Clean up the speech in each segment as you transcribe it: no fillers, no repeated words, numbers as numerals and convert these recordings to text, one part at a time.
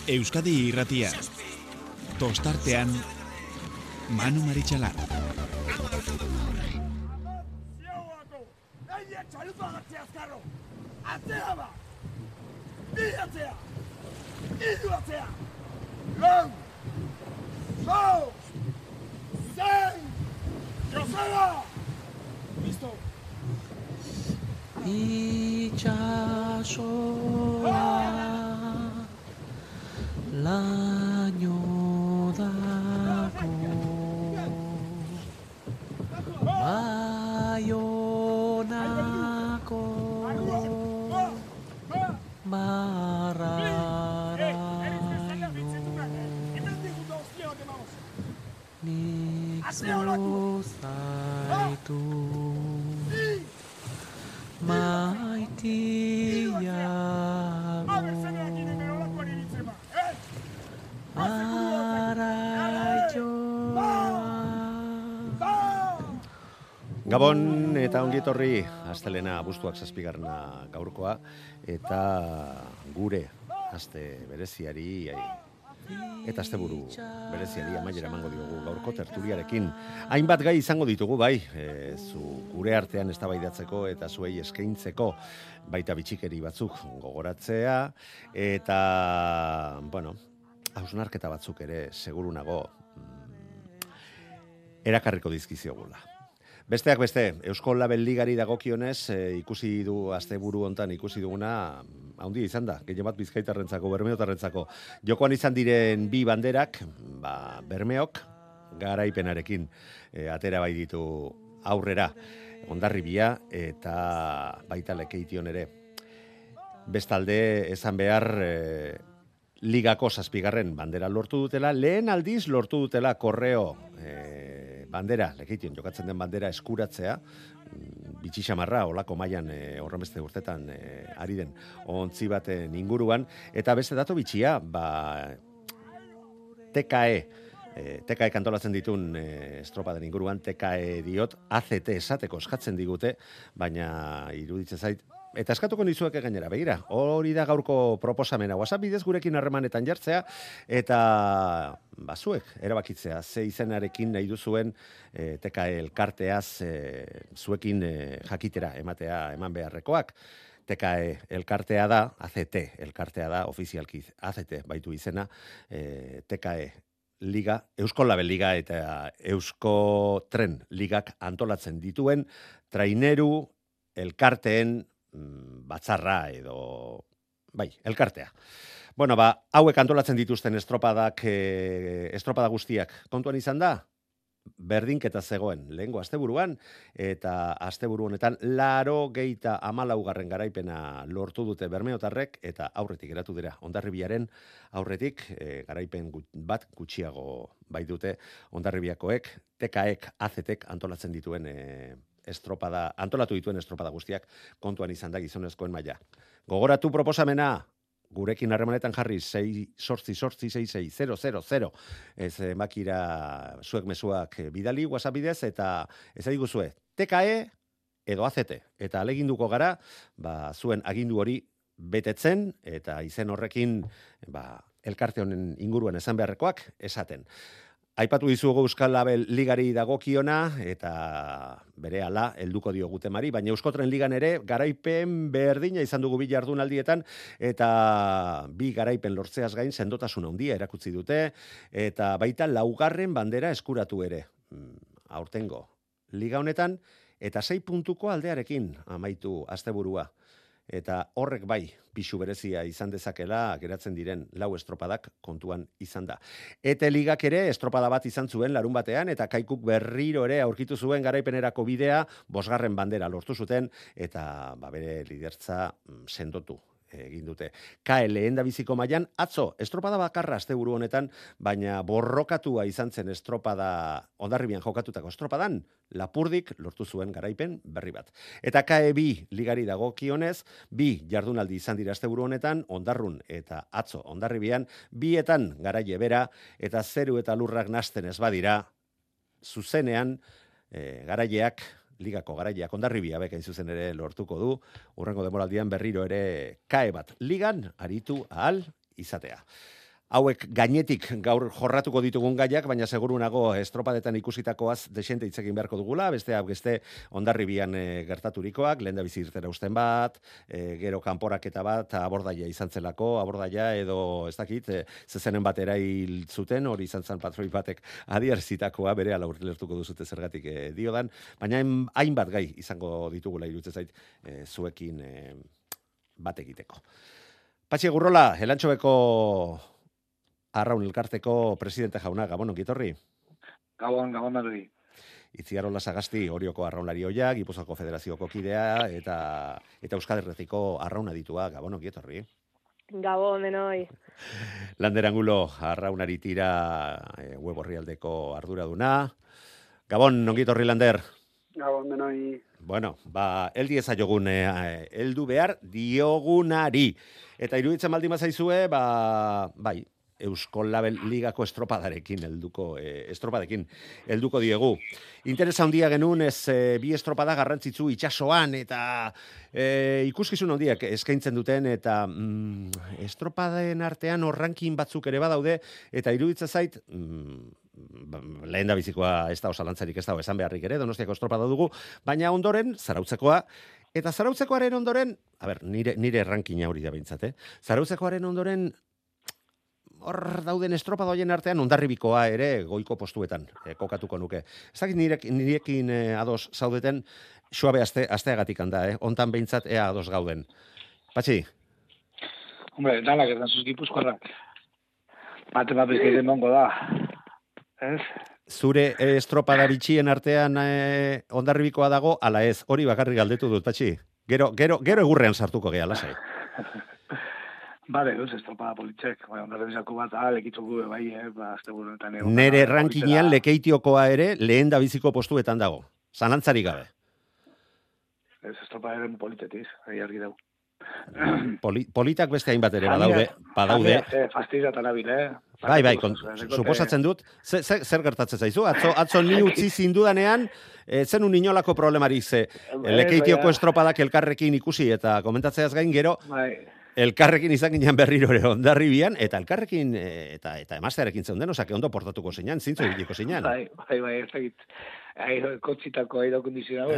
Euskadi Irratia. Tostartean Manu Maritxalar. Laino dako Baionako Barraraino Nik zuzaitu maitiago Gabon eta ongietorri, astelena abuztuak 7. gaurkoa, eta gure aste bereziari eta asteburu bereziari amaiera emango diogu gaurko tertuliarekin. Hainbat gai izango ditugu bai, gure artean eztabaidatzeko eta zuei eskaintzeko, baita bitxikeri batzuk gogoratzea, eta, bueno, hausnarketa batzuk ere seguru nago erakarriko dizkiziogula. Besteak beste, Eusko Label Ligari dagokionez, ikusi du asteburu hontan ikusi duguna, handia izan da, gehien bat Bizkaitarrentzako, Bermeotarrentzako. Jokoan izan diren bi banderak, Bermeok garaipenarekin atera bai ditu aurrera, Hondarribia eta baita Lekeition ere. Bestalde, esan behar, Ligako 7. bandera lortu dutela, lehen aldiz lortu dutela Korreo bandera, Lekeition jokatzen den bandera eskuratzea, bitxixamarra, olako mailan horrenbeste urtetan ari den ontzi baten inguruan, eta beste dato bitxia, TKE kantolatzen ditun estropaden inguruan, TKE diot, ACT esateko eskatzen digute, baina iruditzen zait, eta eskatuko nizueke gainera, begira, hori da gaurko proposamena, WhatsApp bidez gurekin harremanetan jartzea, eta zuek erabakitzea, ze izenarekin nahi duzuen TKE elkarteaz zuekin jakitera ematea eman beharrekoak. TKE elkartea da, ACT elkartea da, ofizialki ACT baitu izena, TKE Liga, Eusko Label Liga eta Eusko Tren Ligak antolatzen dituen traineru elkarteen batzarra edo, elkartea. Bueno, hauek antolatzen dituzten estropada guztiak kontuan izan da, berdinketa zegoen lehengo asteburuan, eta asteburu honetan 94. garaipena lortu dute Bermeotarrek, eta aurretik geratu dira Hondarribiaren aurretik, garaipen bat gutxiago bai dute Hondarribiakoek, TKek, ACTek antolatzen dituen antolatu dituen estropada guztiak kontuan izan da gizonezkoen maila. Gogoratu proposamena, gurekin harremanetan jarri 688666000, ez makira zuek mezuak bidali WhatsApp bidez, eta ez adiguzue TKE edo ACT, eta aleginduko gara, zuen agindu hori betetzen, eta izen horrekin elkarte honen inguruan esan beharrekoak esaten. Aipatu dizugu Euskal Label Ligari dagokiona, eta berehala helduko diogu temari, baina Euskotren Ligan ere garaipen berdina izan dugu bi jardunaldietan, eta bi garaipen lortzeaz gain sendotasun handia erakutsi dute, eta baita 4. bandera eskuratu ere. Aurtengo Liga honetan, eta 6 puntuko aldearekin amaitu asteburua. Eta horrek pixu berezia izan dezakela geratzen diren 4 estropadak kontuan izan da. Ete Ligak ere estropada bat izan zuen larun batean, eta Kaikuk berriro ere aurkitu zuen garaipenerako bidea, 5. bandera lortu zuten, eta bere lidertza sendotu egin dute. KE lehendabiziko mailan atzo estropada bakarra asteburu honetan, baina borrokatua izan zen estropada Hondarribian jokatutako estropadan, Lapurdik lortu zuen garaipen berri bat. Eta KE bi ligari dagokionez, 2 jardunaldi izan dira asteburu honetan, Hondarrun eta atzo Hondarribian, bietan garaile bera, eta zeru eta lurrak nasten ez badira, zuzenean garaileak, Ligako garaileak Hondarribia bekain zuzen ere lortuko du, hurrengo demoraldian berriro ere KE bat ligan aritu ahal izatea. hauek gainetik gaur jorratuko ditugun gaiak, baina seguru nago estropadetan ikusitakoaz desente hitz egin beharko dugula, beste Hondarribian gertaturikoak, lehendabizi irtera usten bat, gero kanporaketa bat, abordaia izan zelako, abordaia edo ez dakit, zezenen bat erail zuten, hori izan zen patroi batek adierzitakoa, bere ala urlertuko duzute zergatik diodan, baina hainbat gai izango ditugula iruditzen zait zuekin bat egiteko. Patxi Gurrola, Elantxobeko Arraun elkarteko presidente jauna, Gabon, ongitorri? Gabon doi. Itziarola Sagasti, Orioko arraunlari oia, Gipuzkoako Federazioko kidea, eta Euskal Herriko arrauna ditua, Gabon, ongitorri? Gabon, denoi. Lander Angulo, arraunari tira web orrialdeko arduraduna. Gabon, ongitorri, Lander? Gabon, denoi. Bueno, heldi ezaiogun, heldu behar diogunari. Eta iruditzen baldin bazaizue, bai, Eusko Label Ligako estropadarekin helduko diegu. Interesa handia genuen bi estropada garrantzitsu itsasoan eta ikuskizun handiak eskaintzen duten eta estropaden artean ranking batzuk ere badaude eta iruditzen zait lehen da bizikoa ez da osalantzarik ez da esan beharrik ere, Donostiako estropada dugu, baina ondoren Zarautzekoa. Eta Zarautzekoaren ondoren, nire rankina hori da behintzat, Zarautzekoaren ondoren hor dauden estropadoien artean Hondarribikoa ere goiko postuetan kokatuko nuke. Ez dakit nirekin ados zaudeten, suabe asteagatik handa, hontan behintzat ea ados gauden. Patxi? Hombre, danak ez dantzuz Gipuzkoarrak. Bate bat bezkeiten mongo da. Ez? Zure estropada bitxien artean Hondarribikoa dago, ala ez, hori bakarrik galdetu dut, Patxi. Gero egurrean sartuko geha, lasai. Bale, estropada politxek, Hondarribizako bat, lekitzuko bai, azte burunetan egon. Nere rankinean Lekeitioko ere lehen da biziko postuetan dago. Zalantzarik gabe. Ez estropada eren politetiz, argi dugu. Politak beste hainbat ere badaude. Fastidatan abil, Bai, suposatzen dut. Zer gertatzen zaizu? Atzo ni utzi zindudanean, zenun inolako problemarik ze. Lekeitioko estropadak elkarrekin ikusi eta komentatzeaz gain gero, elkarrekin izan ginen berriro ere Hondarribian, eta elkarrekin eta emaztearekin zeuden, osake ondo portatuko zeinan, zintzu ibiliko zeinan. Bai, ez dakit. Kotzitako aire kondizionatu.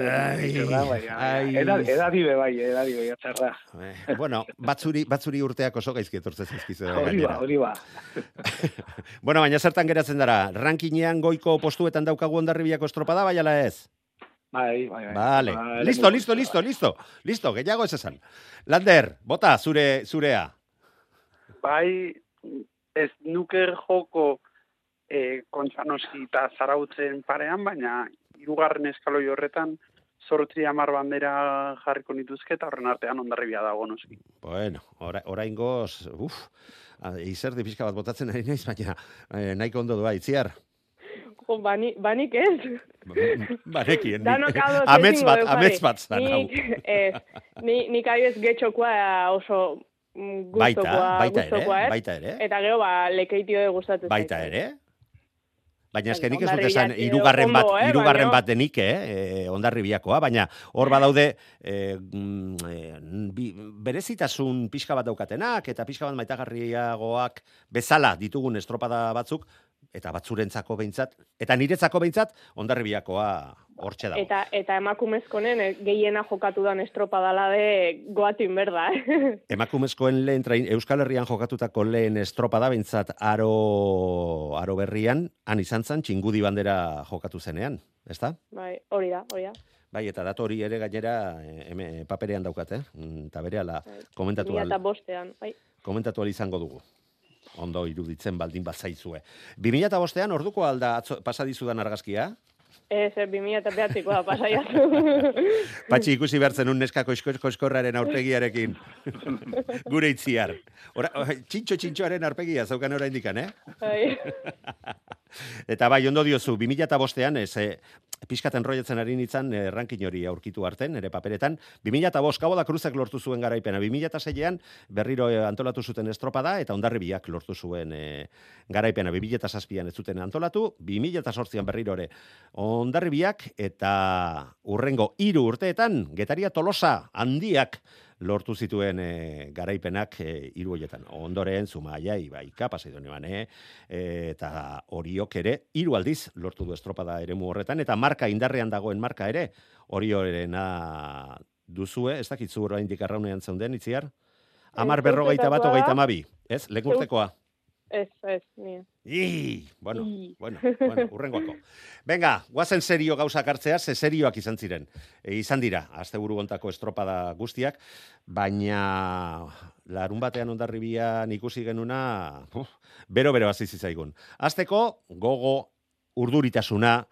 Edadibe bai, atzarra. Bueno, batzuri urteak oso gaizki etortzen zaizkizu. Hori ba. Bueno, baina zertan geratzen dara, rankinean goiko postuetan daukagu Hondarribiako estropada, bai ala ez? Bai. Vale. Listo, gehiago ez esan. Lander, bota, zurea. Bai, ez nuker joko Kontxanoski eta Zarautzen parean, baina hirugarren eskaloi horretan 8-10 bandera jarriko nituzke eta horren artean Hondarribia dago noski. Bueno, oraingoz, izerdi pixka bat botatzen ari naiz, baina nahiko ondo doa, Itziar. Banik ez. Banekin. Amets bat zan. Nik adibez getxokoa oso gustokoa. Baita ere. Eta gero Lekeitio gustatzen zait. Baita ere. Baina eskenik ez dut esan hirugarren bat denik, Hondarribiakoa, baina hor badaude berezitasun pixka bat daukatenak eta pixka bat maitagarriagoak bezala ditugun estropada batzuk, eta batzurentzako behintzat, eta niretzako behintzat, Hondarribiakoa hortxe dago. Eta emakumezkonen gehiena jokatu dan estropadala de goatin berda. Emakumezkoen Euskal Herrian jokatutako lehen estropada behintzat aro berrian, han izan zen, txingudi bandera jokatu zenean, ezta? Bai, hori da. Bai, eta datu hori ere gainera paperean daukat, eta berehala komentatu al. 2005an, bai. Komentatu al izango dugu. Ondo iruditzen baldin bazaizue. 2005an orduko alda pasadizudan argazkia? Ez, 2009koa pasaiatu. Patxi ikusi behar zenun neska koiskorraren aurpegiarekin. Gure Itziar. Txintxoaren aurpegia zaukan ora indikan, Bai. Eta bai, ondo diozu, 2005an, pixkaten roietzen ari nintzen rankin hori aurkitu arten, ere paperetan. 2005, Cabo da Cruzek lortu zuen garaipena. 2006an berriro antolatu zuten estropada, eta Hondarribiak lortu zuen garaipena. 2007an ez zuten antolatu, 2008an berriro ere Hondarribiak, eta urrengo 3 urteetan, Getaria Tolosa handiak lortu zituen garaipenak hiru hoietan. Ondoren, Zumaia, Ibaika, Pasaidon eta Oriok ere, 3 aldiz lortu du estropada eremu horretan, eta marka indarrean dagoen marka ere, Oriorena duzue, ez dakitzu oraindik arraunean zeunden, Itziar? 10:41, ez? Lekurtekoa. Ez, nire. Bueno, urrengoako. Venga, guazen serio gauzak hartzea, ze serioak izan ziren. Izan dira, asteburu hontako estropada guztiak, baina larun batean Hondarribian ikusi genuna, bero hasi zitzaigun. Hasteko gogo, urduritasuna,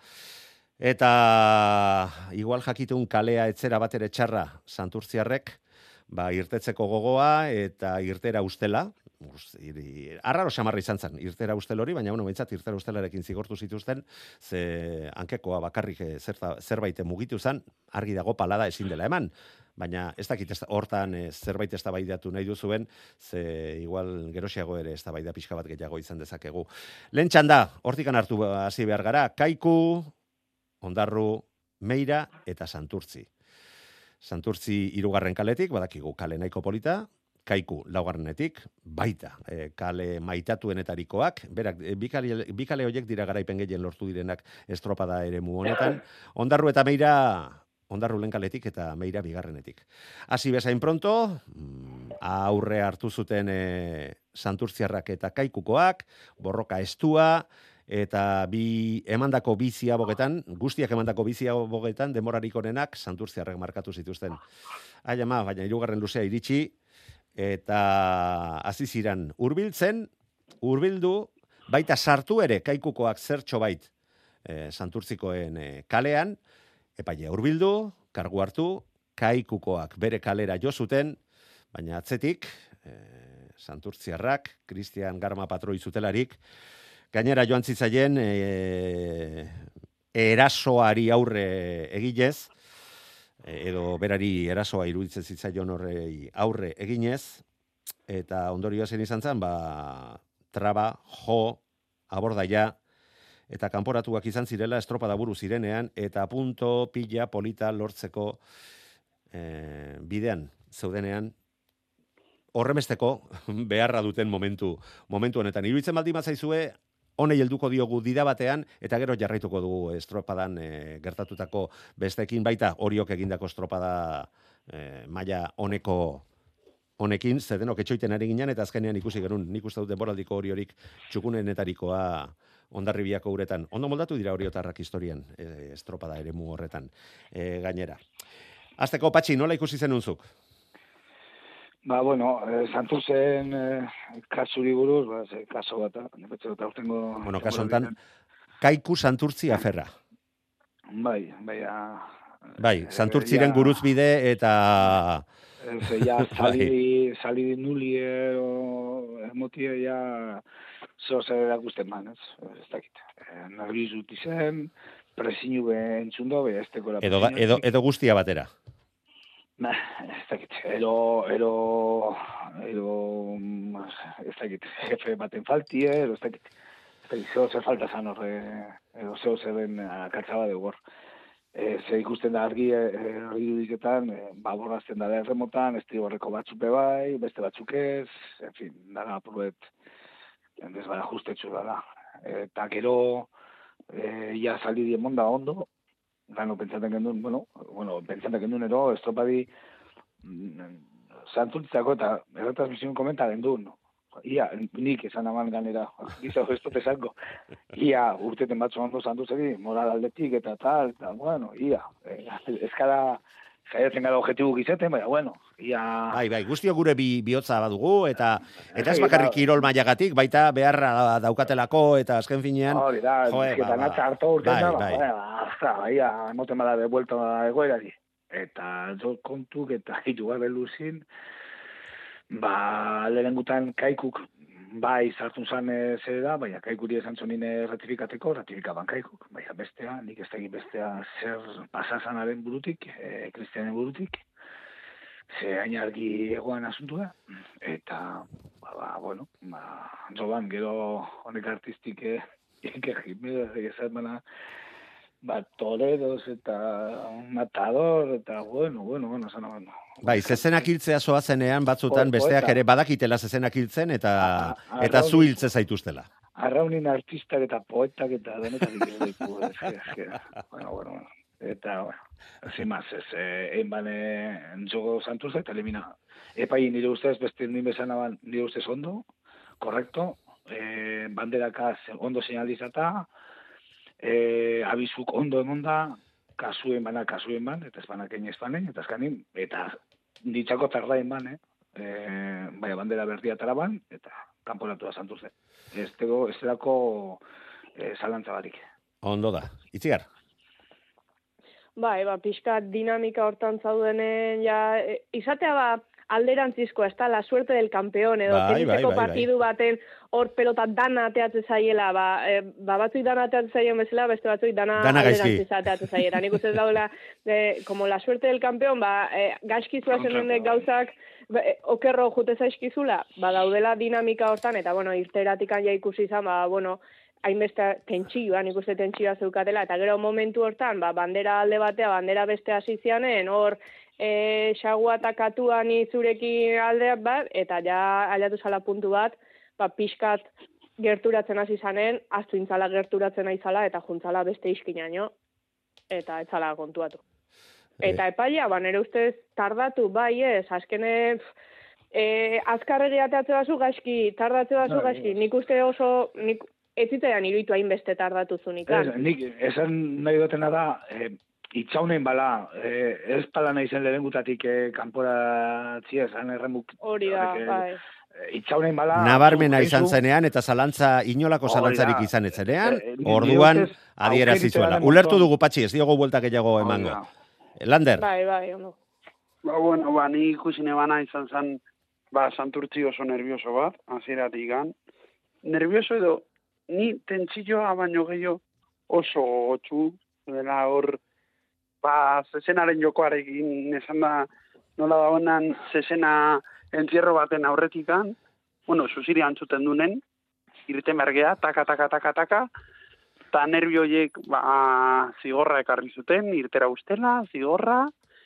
eta igual jakitun kalea etzera batere txarra Santurtziarrek, irtetzeko gogoa eta irtera ustela, arraro xamarra izan zen, irtera ustel hori, baina behintzat irtera ustelarekin zigortu zituzten, ze hankekoa bakarrik zerbait mugitu zen, argi dago palada ezin dela eman, baina ez dakit hortan zerbait eztabaidatu nahi duzuen, ze igual gerosiago ere eztabaida pixka bat gehiago izan dezakegu. Lehen txanda, hortikan hartu hasi behar gara, Kaiku, Ondarru, Meira eta Santurtzi. Santurtzi 3. kaletik, badakigu kale nahiko polita, Kaiku 4. baita, kale maitatuenetarikoak, berak, bi kale horiek dira garaipen gehien lortu direnak estropada eremu honetan, Ondarru eta Meira, Ondarru lehen kaletik eta Meira 2. Hasi bezain pronto, aurre hartu zuten Santurtziarrak eta Kaikukoak, borroka estua, eta emandako biziabogetan, guztiak emandako biziabogetan, demorarik onenak Santurtziarrek markatu zituzten. Baina 3. luzea iritsi, eta hasi ziren hurbildu, baita sartu ere Kaikukoak zertxo bait Santurtzikoen kalean, epaile hurbildu, kargu hartu, Kaikukoak bere kalera jo zuten, baina atzetik, Santurtziarrak, Cristian Garma patroi zutelarik, gainera joan zitzaien erasoari aurre egilez, edo berari erasoa iruditzen zitzaion horrei aurre eginez, eta ondorioa zen izan zen, traba, jo, abordaia, eta kanporatuak izan zirela estropada buru zirenean, eta punto pila polita lortzeko bidean zeudenean, horremesteko beharra duten momentu honetan. Iruditzen baldin bazaizue, honei helduko diogu dida batean, eta gero jarraituko dugu estropadan gertatutako bestekin, baita Oriok egindako estropada maila honekin, zedenok etxoiten ari ginen, eta azkenean ikusi genuen, nik uste dut denboraldiko Oriorik txukunenetarikoa Hondarribiako uretan. Ondo moldatu dira oriotarrak historian, estropada eremu horretan gainera. Azteko, Patxi, nola ikusi zenunzuk? Santurtzen kasuri buruz, kaso bat, Bueno, kaso enten, Kaiku Santurtzi aferra. Bai, Santurtziren guruzbide eta... Salidi nuli emotie zer erakusten man, ez dakit. Nerviz dut izen, presinu entzun dobe, ez tekola presinu. Edo guztia batera. Ez dakit, edo, ez dakit, jefe baten faltie, edo ez dakit, zeo zer falta zan horre, edo zeo zer den akatzaba dugu hor. Ze ikusten da argi dudiketan, borrazten da erremotan, estriborreko batzupe bai, beste batzuk ez, en fin, dara apuruet, ez bada justetxu da. Eta gero, ja saldi diemon da ondo, gano pentsatzen gendun, ero, estropadi Santurtzako eta erretransmisioen komenta gendun. Ia, nik esan aman ganera, gizago ez tote zango. Ia, urteten batzu ondo Santurtzeri, moral aldetik eta tal, eta ia, ezkara jaiatzen gara objetibu gizaten, baina, ia... Bai, guztio gure bihotza badugu, eta ez bakarrik kirol mailagatik, baita beharra daukatelako, eta azken finean... Hori da, bizketan atza hartu urten da, ia, emoten bada de vuelta egoerari. Eta kontuk eta hirugarren luzin, lehengutan Kaikuk, bai, sartun zan zer da, baina Kaikuri esan zonine ratifikaban Kaikuk, baina bestea, nik ez egin bestea zer pasazanaren burutik, Kristianen burutik, ze hain argi egoan asuntu da, eta, joban, gero honek artistik, ikerri, ezat bana, Toreros eta Matador, eta bueno, zena. Bai, zezenak hiltzea zoazenean batzutan besteak ere badakitela zezenak hiltzen eta zu hiltze zaituztela. Arraunin artistak eta poetak eta denetarik ez ditu. Bueno. Eta, sin más, egin entzuko Santurtza eta elimina. Epai nire ustez, beste nire bezanaban nire ustez ondo, korrekto, banderaka ondo señalizata, abizuk ondo emonda, kasuen ban, eta ezbanakein ezbanen, eta ezkanin, eta ditzako tardain ban, baina bandera berdia taraban, eta kanporatu da Santurtze. Ez delako zalantza barik. Ondo da. Itziar? Pixka dinamika hortan zaudenen, izatea alderantzizko, ez da, la suerte del campeón, edo teniseko partidu baten hor pelota dana ateatzen zaiela, batzuk dana ateatzen zaien bezala, beste batzuk dana alderantziz ateatzen zaiela. Nik uste daula, como la suerte del campeón, gaizki zuazen gauzak, okerro jute zaizkizula, daudela dinamika hortan, eta, irteratikan ja ikusi izan, hainbeste tentsioa, nik uste tentsioa zeukatela, eta gero momentu hortan, bandera alde batea, bandera beste hasi zianen, hor, xagua eta katua ni zurekin aldeak bat, eta ja aldatu zala puntu bat, pixkat gerturatzen hasi zanen, aztu intzala gerturatzen aizala, eta juntzala beste iskinaino, eta etzala kontuatu. Eta epaia, nire ustez tardatu, azkene, azkarregi ateatze bazu gaizki, tardatze bazu gaizki, nik uste oso, ez zitean iruditu hainbeste tardatu zunikan. Nik esan nahi dutena da, itxaunen bala, ez pala nahi zen lehengutatik kanporatzia esan erremuk. Hori da, Itxaunen bala... Nabarmena izan zenean eta inolako zalantzarik izan etzenean, orduan adierazizuela. Ulertu dugu Patxi, ez diogo bueltak gehiago emango. Lander? Bai, ondo. Ni ikusi nebana izan zen, Santurtzi oso nervioso bat, hasieratik gan. Nervioso edo, ni tentsilloa baino gehiago oso gotxu, dela hor, zezenaren jokoarekin, esan da, nola da honan zezena entzierro baten aurretikan, zuziri antzuten dunen, irten bergea, taka, eta nervioiek zigorra ekarri zuten, irtera ustela, zigorra,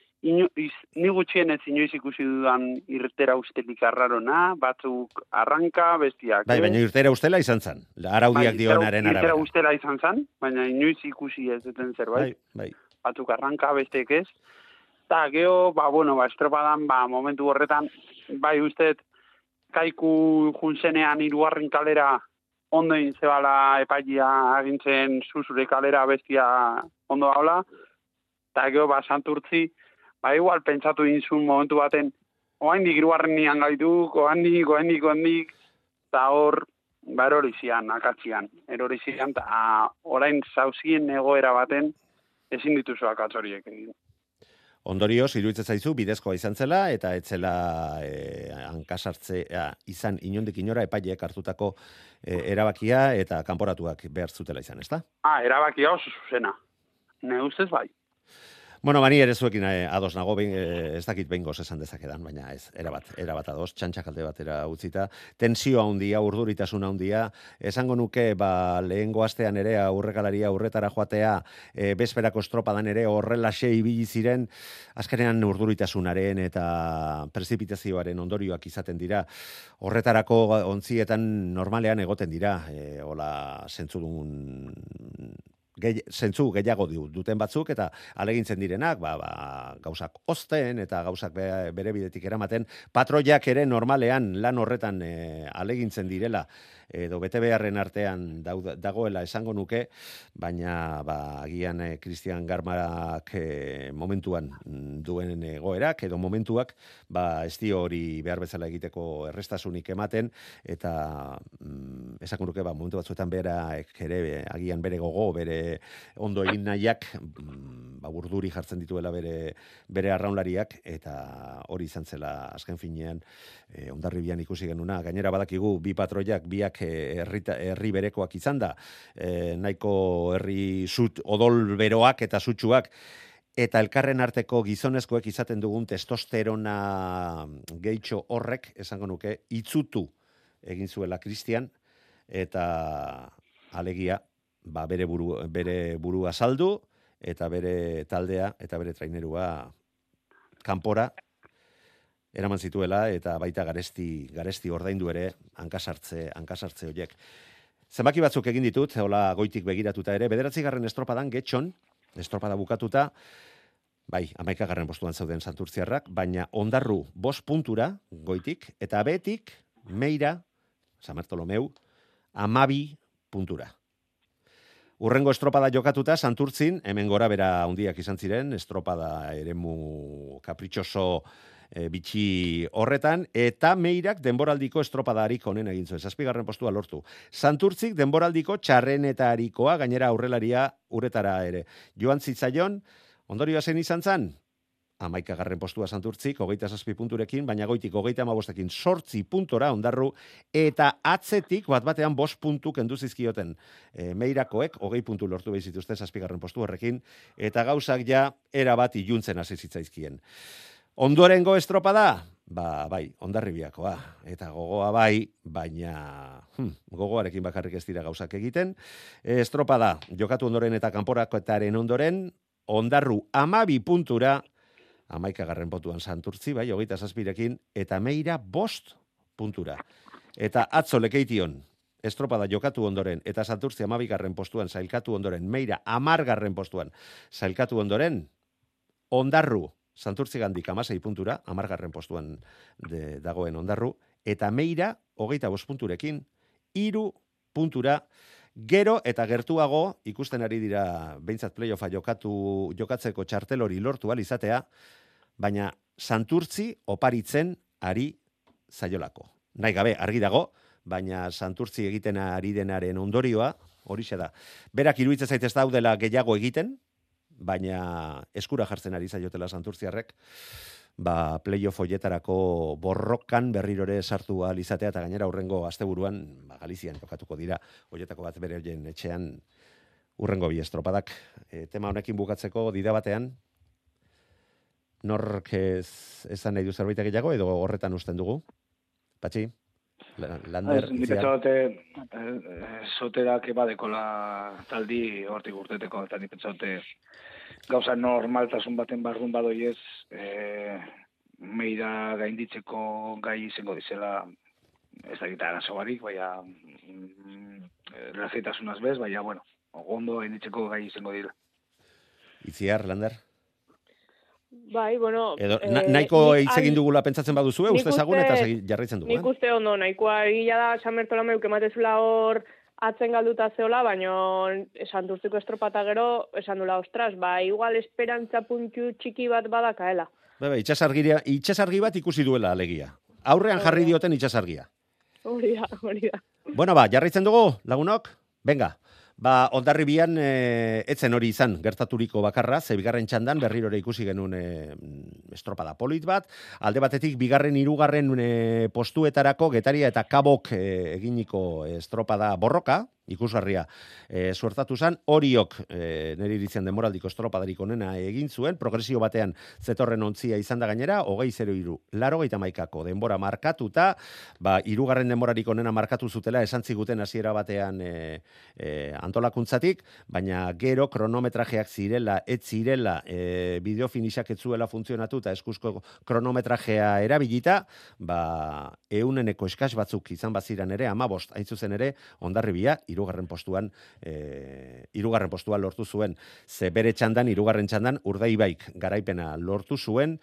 ni gutxienez inoiz ikusi dudan irtera ustelik arrarona, batzuk arranka, bestiak. Baina irtera ustela izan zen, araudiak dionaren arabera. Irtera ustela izan zen, baina inoiz ikusi ez duten zerbait. Batzuk arranka, besteek ez. Eta geho, estropadan, momentu horretan, usteet, kaiku junzenean irugarren kalera ondo inzebala epailia agintzen zuzure kalera bestia ondo haula, eta geho, Santurtzi, igual pentsatu inzun momentu baten, oaindik irugarren nian gaituk, oaindik, eta hor, erorizian, akatzian, eta orain zauzien egoera baten, ezin dituzu akatzoriek egin. Ondorioz, iruditzen zaizu, bidezkoa izan zela, eta etzela hankasartzea izan inondik inora epaileek hartutako erabakia eta kanporatuak behar zutela izan, ezta? Erabakia oso zuzena. Ne ustez bai. Bani ere zuekin ados nago, ez dakit behingoz esan dezakedan, baina ez, erabat ados, txantxak alde batera utzita, tensioa handia, urduritasuna handia, esango nuke, lehengo astean ere aurrekalaria aurretara joatea, bezperako estropadan ere horrelaxe ibili ziren, azkenean urduritasunaren eta prezipitazioaren ondorioak izaten dira, horretarako ontzietan normalean egoten dira, hola zentzudun zentzu gehiago duten batzuk eta alegintzen direnak, gauzak ozten eta gauzak bere bidetik eramaten, patroiak ere normalean lan horretan alegintzen direla edo bete beharren artean dagoela esango nuke, baina agian Cristian Garmarak momentuan duen egoerak edo momentuak ez dio hori behar bezala egiteko errestasunik ematen eta esango nuke momentu batzuetan ere agian bere gogo, bere ondo egin nahiak urduri jartzen dituela bere arraunlariak eta hori izan zela azken finean Hondarribian ikusi genuna. Gainera badakigu bi patroiak biak herri berekoak izan da, nahiko herri odol beroak eta sutsuak eta elkarren arteko gizonezkoek izaten dugun testosterona gehitxo horrek, esango nuke, itzutu egin zuela Cristian eta alegia bere burua saldu, eta bere taldea, eta bere trainerua kanpora eraman zituela, eta baita garesti ordaindu ere hankasartze horiek. Zenbaki batzuk egin ditut, hola goitik begiratuta ere, 9. estropadan getxon, estropada bukatuta, bai, 11. postuan zauden santurtziarrak, baina Ondarru 5 puntura goitik, eta betik Meira, San Bartolomeu, 12 puntura. Urrengo estropada jokatuta, Santurtzin, hemen gora bera handiak izan ziren, estropada eremu kapritxoso bitxi horretan, eta Meirak denboraldiko estropadarik honen egin zuen, 7. postua lortu. Santurtzik denboraldiko txarrenetarikoa, gainera aurrelaria uretara ere. Joan zitzaion, ondorioa zen izan zan? 11. postua Santurtzik, 27 punturekin, baina goitik 35ekin 8 puntora Ondarru, eta atzetik bat-batean 5 puntu kendu zizkioten. Meirakoek 20 puntu lortu behizituzten 7. postu horrekin, eta gauzak ja erabat iluntzen hasi zitzaizkien. Ondorengo estropada? Bai, Hondarribiakoa. Eta gogoa bai, baina gogoarekin bakarrik ez dira gauzak egiten. Estropada, jokatu ondoren eta kanporakoetaren ondoren, Ondarru 12 puntura, 11. postuan Santurtzi, bai, 27ekin, eta Meira 5 puntura. Eta atzo lekeition, estropada jokatu ondoren, eta Santurtzi 12. postuan sailkatu ondoren, Meira 10. postuan sailkatu ondoren, Ondarru, Santurtzi gandik 16 puntura, 10. postuan dagoen Ondarru, eta Meira 25 punturekin, 3 puntura, gero eta gertuago, ikusten ari dira behintzat playoffa jokatzeko txartel hori lortu izatea, baina Santurtzi oparitzen ari zaiolako. Nahi gabe, argi dago, baina Santurtzi egiten ari denaren ondorioa, horixe da. Berak iruditzen zaitez daudela gehiago egiten, baina eskura jartzen ari zaiotela Santurtziarrek, playoff hoietarako borrokan berrirore sartu ahal izatea, eta gainera hurrengo asteburuan Galizian jokatuko dira, hoietako bat bere hoien etxean hurrengo 2 estropadak. Tema honekin bukatzeko dida batean, nork esan nahi du zerbait gehiago, edo horretan usten dugu? Patxi? Lander? Soterak badekola taldi hortik urteteko, eta nipetzaute gauza normaltasun baten barrun badoiez, Meira gainditzeko gai izango dizela, ez da gita arazo barik, baina lasaitasunaz bez, baina, bueno, ondo gainditzeko gai izango dira. Itziar, Lander? Bai, bueno... Edo, nahiko hitz egin dugula pentsatzen baduzue, uste ezagun eta jarraitzen dugu. Nik uste ondo, nahikoa egila da San Bartolomeu kematezula hor atzen galduta zeola, baina Santurtziko estropata gero esan dula, ostras, igual esperantza puntu txiki bat badakaela. Itxasargi bat ikusi duela alegia. Aurrean jarri dioten itxasargia. Hori da. Bueno, jarraitzen dugu, lagunok? Venga. Hondarribian etzen hori izan gertaturiko bakarra, ze bigarren txandan berrirore ikusi genuen estropada polit bat, alde batetik bigarren 3. postuetarako Getaria eta Kabok eginiko estropada borroka, ikusgarria suertatu zen, horiok nire iritzen demoraldiko estropadarik onena egin zuen, progresio batean zetorren ontzia izan da gainera, 20-03, 81ko denbora markatuta, 3. denborarik onena markatu zutela, esan ziguten hasiera batean antolakuntzatik, baina gero kronometrajeak ez zirela bideo finisak ez zuela funtzionatu eta eskuzko kronometrajea erabilita, 100-eko eskas batzuk izan baziran ere, 15 hain zuzen ere, Hondarribia, 3. postuan lortu zuen. Ze bere txandan, 3. txandan, Urdaibaik garaipena lortu zuen,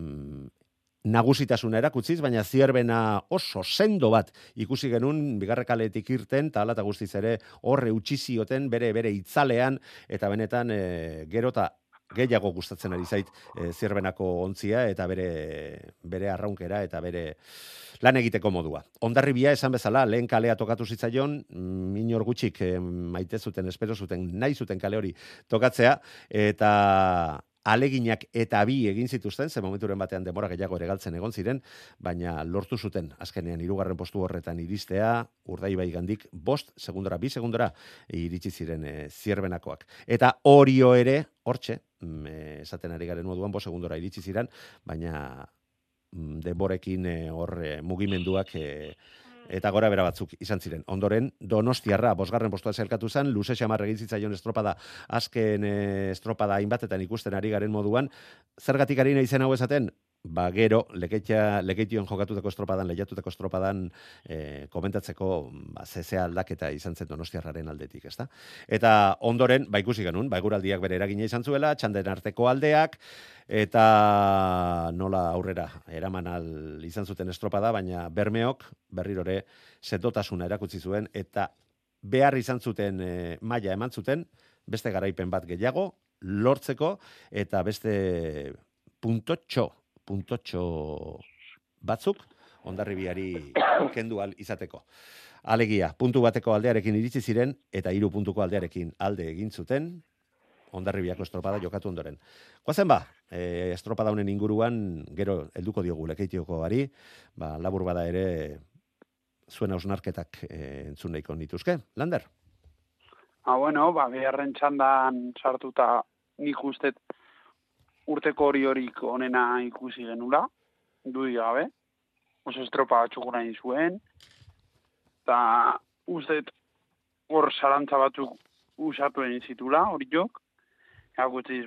nagusitasuna erakutziz, baina zierbena oso sendo bat ikusi genuen bigarrekaletik irten, eta ala eta guztiz ere horre utxizioten bere itzalean, eta benetan gero eta gehiago gustatzen ari zait zierbenako ontzia, eta bere arraunkera, eta bere lan egiteko modua. Hondarribia esan bezala, lehen kalea tokatu zitzaion, minor gutxik maite zuten, espero zuten, nahi zuten kale hori tokatzea, eta aleginak eta bi egin zituzten, ze momenturen batean denbora gehiago ere galtzen egon ziren, baina lortu zuten azkenean 3. postu horretan iristea, Urdaibai gandik 2 segundora iritsi ziren zierbenakoak. Eta Orio ere, hortxe, esaten ari garen moduan 5 segundora iritsi ziren, baina denborekin mugimenduak eta gora bera batzuk izan ziren. Ondoren, Donostiarra, 5. postua zelkatu zen, luze xamar egin zitzaion estropada, azken estropada hainbatetan ikusten ari garen moduan, zergatik ari nahi zen hau esaten? Ba, gero, lekeition jokatutako estropadan, lehiatutako estropadan komentatzeko zezea aldaketa izan zen Donostiarraren aldetik, ezta? Eta ondoren, ikusi genuen, eguraldiak bere eragina izan zuela, txanden arteko aldeak, eta nola aurrera eraman izan zuten estropada, baina Bermeok berrirore setotasuna erakutsi zuen, eta behar izan zuten maila eman zuten, beste garaipen bat gehiago, lortzeko, eta beste puntotxo batzuk Hondarribiari kendu izateko. Alegia, puntu bateko aldearekin iritsi ziren, eta 3 puntuko aldearekin alde egin zuten, Hondarribiako estropada jokatu ondoren. Goazen estropada honen inguruan, gero helduko diogu Lekeitiokoari, labur bada ere, zuen hausnarketak entzun nahiko nituzke. Lander? Bueno, bigarren txandan sartuta nik ustet urteko horik onena ikusi genula, dudik gabe, oso estropa batxukuna zuen, eta ustet hor zarantza batzuk usatu egin zitula, hori jok, gutziz,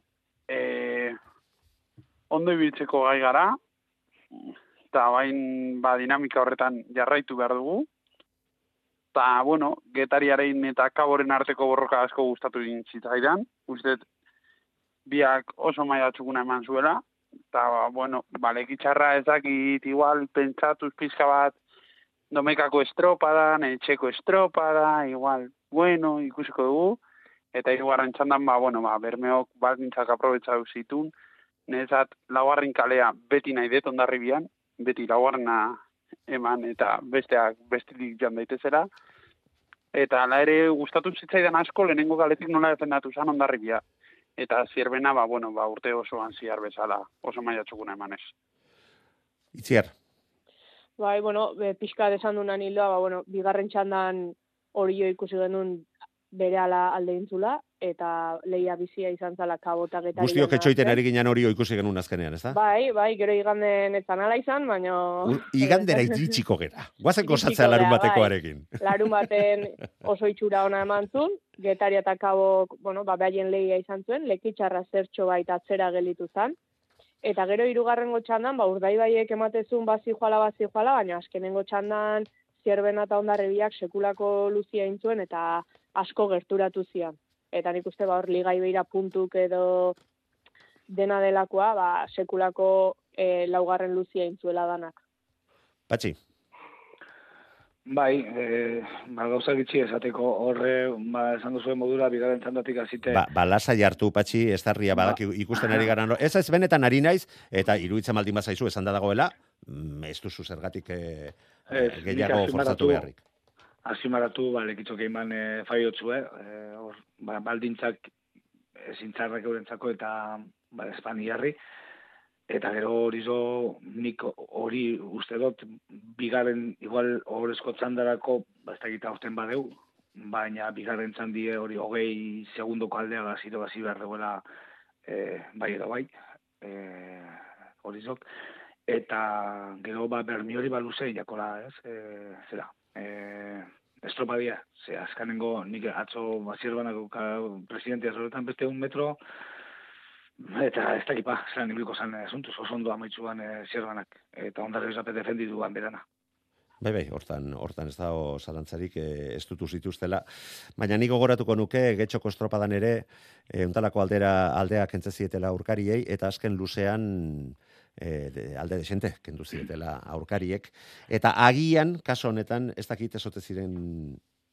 ondo ibiltzeko gai gara, eta bain dinamika horretan jarraitu behar dugu, eta, Getariaren eta Kaboren arteko borroka asko gustatu egin zitzaidan, ustet biak oso maila txukuna eman zuela, eta, lekitxarra ezakit, igual, pentsatuz pizka bat, domekako estropadan, etxeko estropada, igual, ikusiko dugu, eta hirugarren txandan, Bermeok baldintzak aprobetxatu zitun, nezat, laugarren kalea beti nahi det Hondarribian, beti laugarrena eman, eta bestetik joan daitezera, eta ala ere gustatu zitzaidan asko, lehenengo kaletik nola defendatu zan Hondarribia. Eta zierbena, urte osoan ziar bezala, oso maila txukuna emanez. Itziar? Pixka desan dunan hildoa, bigarren txandan hori jo ikusi genuen bere ala alde intzula, eta lehia bizia izan zala Kabota Getari. Guztiok etxoiten ari ginen hori ikusi genuen azkenean, ez da? Gero iganden etzan ala izan, baina... Igandera iritsiko gera. Guazen gozatzea larun batekoarekin. Larun baten oso itxura ona eman zuen, Getari eta Kabok, behaien lehia izan zuen, lekitxarra zertxo baita atzera gelitu zan. Eta gero hirugarrengo txandan, Urdaibaiek ematezun bazi joala, baina azkenengo txandan Zierbena eta Hondarribiak sekulako luzia intzuen eta asko gerturatu zian. Eta nik uste hor ligai beira puntuk edo dena delakoa, sekulako laugarren luzia intzuela danak. Patxi? Gauza gitxi esateko horre, esan duzuen modura, bigarren txandatik azite... Lasai hartu, Patxi, ez darria badak ikusten ari gara. Ez benetan ari naiz, eta iruditzen maldin bazaizu esan da dagoela, ez duzu zergatik gehiago forzatu beharrik. Azimaratu, lekitxok egin faiotzue, baldintzak zintzarrak eurentzako eta Espainiarri, eta gero hori nik hori uste dut, bigarren igual horrezko txandarako, ez da gita orten badeu, baina bigarren txandie hori 20 segundoko aldea gazito gazi behar duela bai edo bai, hori zok, eta gero Bermi hori luze jakola, zera, estropadia, azkanengo nik atzo Zierbenako presidentia zoretan beste 1 metro, eta ez dakipa, zelan ibiliko zan asuntuz, oso ondo amaitzuan Zierbenak, eta Hondarribia zapet defenditu berana. Bai, hortan ez dago zalantzarik ez dutu zituztela. Baina nik gogoratuko nuke, Getxoko estropadan ere, untalako aldeak entzezietela aurkariei, eta azken luzean alde desente, kendu zietela aurkariek. Eta agian, kaso honetan, ez dakit ezote ziren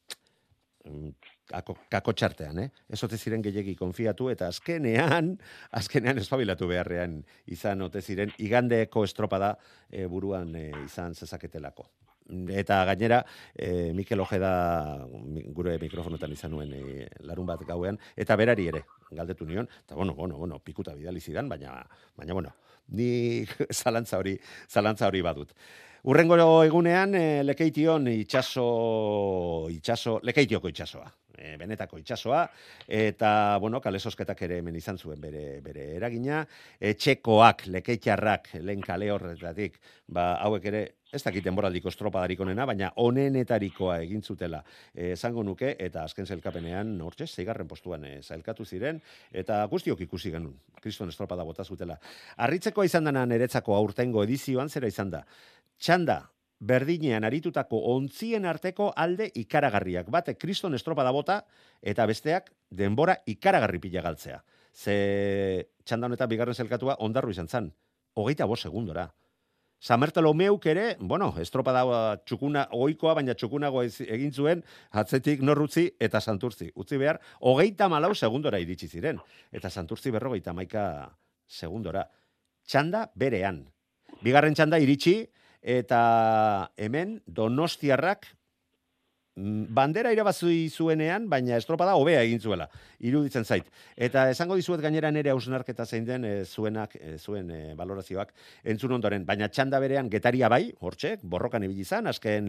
kakotxartean, ezote ziren gehiegi konfiatu, eta azkenean espabilatu beharrean izan ote ziren, igandeko estropada buruan izan zezaketelako. Eta gainera, Mikel Ojeda gure mikrofonotan izan nuen larun bat gauean, eta berari ere, galdetu nion, eta bueno, pikuta bidali zidan, baina ni zalantza hori badut. Urrengo egunean, Lekeition Lekeitioko itxasoa. benetako itsasoa, eta, bueno, kalesosketak ere hemen izan zuen bere eragina, txekoak, lekeitarrak, lehen kale horretatik, hauek ere, ez dakit denboraldiko estropadarik onena, baina onenetarikoa egin zutela esango nuke, eta azken sailkapenean, hortxe, 6. postuan sailkatu ziren, eta guztiok ikusi genuen, kriston estropada bota zutela. Harritzekoa izan dena niretzako aurtengo edizioan, zera izan da, txanda, berdinean aritutako ontzien arteko alde ikaragarriak. Bate, kriston estropada bota, eta besteak denbora ikaragarri pila galtzea. Ze txanda honetan bigarren sailkatua ondarru izan zan, 25 segundora. Samertolomeuk ere, bueno, estropada txukuna oikoa, baina txukunago egin zuen, atzetik Norrutzi eta Santurtzi. Utzi behar, 34 segundora iritsi ziren. Eta Santurtzi 51 segundora. Txanda berean. Bigarren txanda iritsi, eta hemen Donostiarrak bandera irabazi zuenean, baina estropada hobea egin zuela, iruditzen zait. Eta esango dizuet gainera nere hausnarketa zein den zuen valorazioak entzun ondoren, baina txanda berean Getaria bai, hortxe, borrokan ibili izan, azken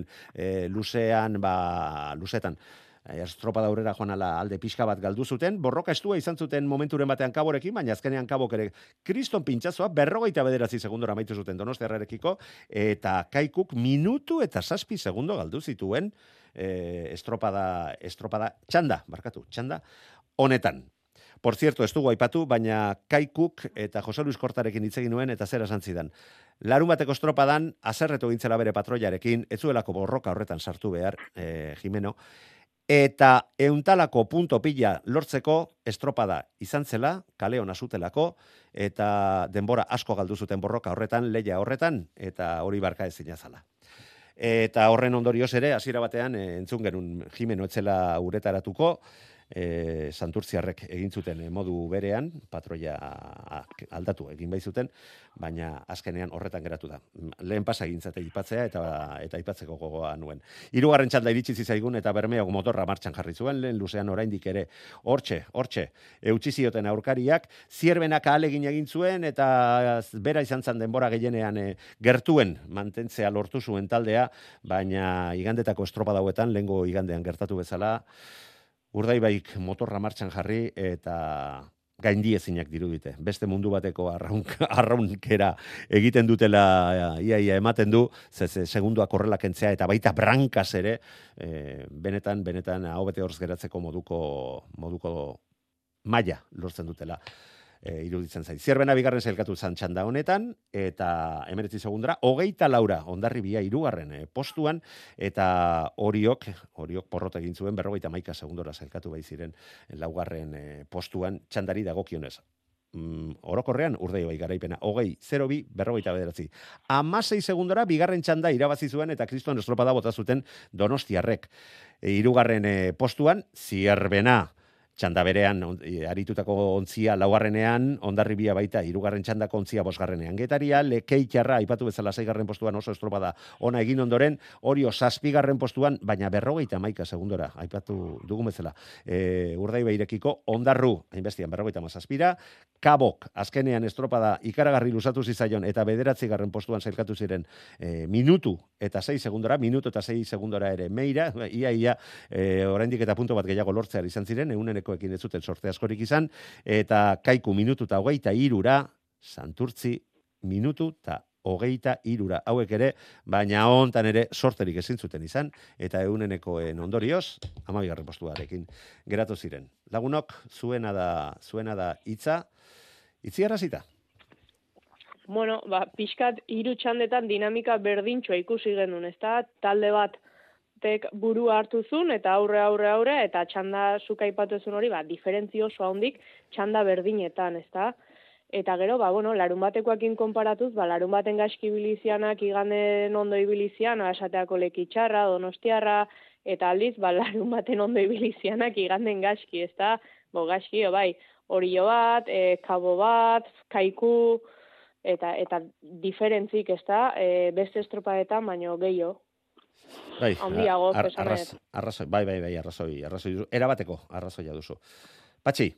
luzetan. Estropada aurrera joan ala alde pixka bat galdu zuten, borroka estua izan zuten momenturen batean Kaborekin, baina azkenean Kabok ere kriston pintxazoa 59 segundora amaitu zuten Donostiarrarekiko, eta Kaikuk minutu eta 7 segundo galdu zituen estropada txanda honetan. Por cierto, ez dugu aipatu, baina Kaikuk eta Jose Luis Kortarekin hitz egin nuen eta zera esan zidan. Larun bateko estropadan, azerretu gintzela bere patroiarekin, ez zuelako borroka horretan sartu behar, Jimeno, eta euntalako punto pila lortzeko estropada izan zela, kale hona zutelako, eta denbora asko galdu zuten borroka horretan, leia horretan, eta hori barka ezina zala. Eta horren ondorioz ere, hasiera batean, entzun genuen Jimeno etzela uretaratuko, Santurtziarrek egin zuten modu berean, patroia aldatu egin bai zuten, baina azkenean horretan geratu da. Lehen pasa egin zate ipatzea eta ipatzeko gogoa nuen. 3. txanda iritsi zizaigun eta Bermeok motorra martxan jarri zuen, lehen luzean oraindik ere hortxe, eutsi zioten aurkariak, Zierbenak ahalegin egin zuen eta bera izan zen denbora gehienean gertuen mantentzea lortu zuen taldea, baina igandetako estropada hauetan, lehengo igandean gertatu bezala, Urdaibaik motorra martxan jarri eta gaindiezinak dirudite. Beste mundu bateko arraunkera egiten dutela ia ematen du, segunduak horrela kentzea eta baita brankaz ere, benetan hau bete horz geratzeko moduko maila lortzen dutela. Iruditzen zait. Zierbena bigarren sailkatu zan txanda honetan, eta 19 segundara, 24 Hondarribia 3. postuan, eta horiok porrot egin zuen 51 segundora sailkatu bai ziren 4. postuan txandari dagokionez. Orokorrean Urdaibai garaipena 20-02 59. 16 segundora bigarren txanda irabazi zuen eta kriston estropada bota zuten Donostiarrek. 3. postuan Zierbena txanda berean aritutako ontzia 4. Hondarribia baita 3. txandako ontzia 5. Getaria, Lekeitarra aipatu bezala 6. postuan oso estropada ona egin ondoren, Orio 7. postuan, baina 51 segundora aipatu dugun bezala. Urdaibairekiko Ondarru, hainbestian 57, Kabok azkenean estropada ikaragarri luzatu zizaion eta 9. postuan sailkatu ziren minutu eta 6 segundora ere meira, ia oraindik eta punto bat gehiago lortzea izan ziren, euneneko ekin ez zuten sorte askorik izan, eta Kaiku minutu eta 23, Santurtzi minutu eta 23, hauek ere, baina hontan ere sorterik ezin zuten izan, eta eunenekoen ondorioz, 12. postuarekin geratu ziren. Lagunok, zuena da hitza, itziarrazita? Bueno, pixkat 3 txandetan dinamika berdintxoa ikusi genuen, ezta? Talde bat burua hartu zuen, eta aurre, eta txanda zuka aipatu zuen hori, diferentzio oso handik txanda berdinetan, ezta? Eta gero, larun batekoakin konparatuz, larun baten gaizki ibilizianak iganden ondo ibilizian, esateako Lekitxarra, Donostiarra, eta aldiz, larun baten ondo ibilizianak iganden gaizki, ezta? Gaizki, bai, Orio bat, Kabo bat, Kaiku, eta diferentzik, ezta? Beste estropadetan, baino gehiago. Bai, arrazoi. Bai, arrazoi. Erabateko arrazoia duzu. Patxi?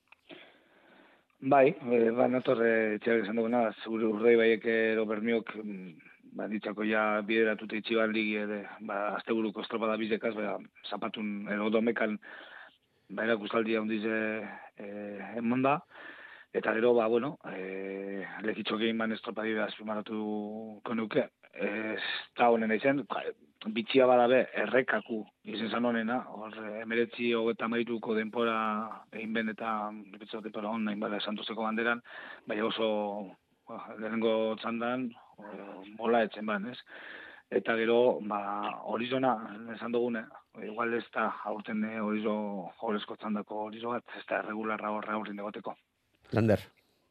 Bai, nator etxeak esan duguna, zure Urdaibaiek ero Bermeok, ditzako ja bideratute itxiban ligi, asteburuko estropada bizekaz, zapatun edo domekan baina guztaldia hundiz emonda, eta gero, bueno, lekitxokein ban estropadide azpimarratu konuke, ez da honen aizen, bitxia badabe errekaku izen zan honena, hor 19-38ko denpora egin ben eta denpora hon nahin bada Santoseko banderan, baina oso lehenengo txandan mola etzen ban, ez? Eta gero, horizona, esan dugune, igual ez da aurten horizo jolezko txandako horizo bat, ez da regularra horre aurrin egoteko. Lander.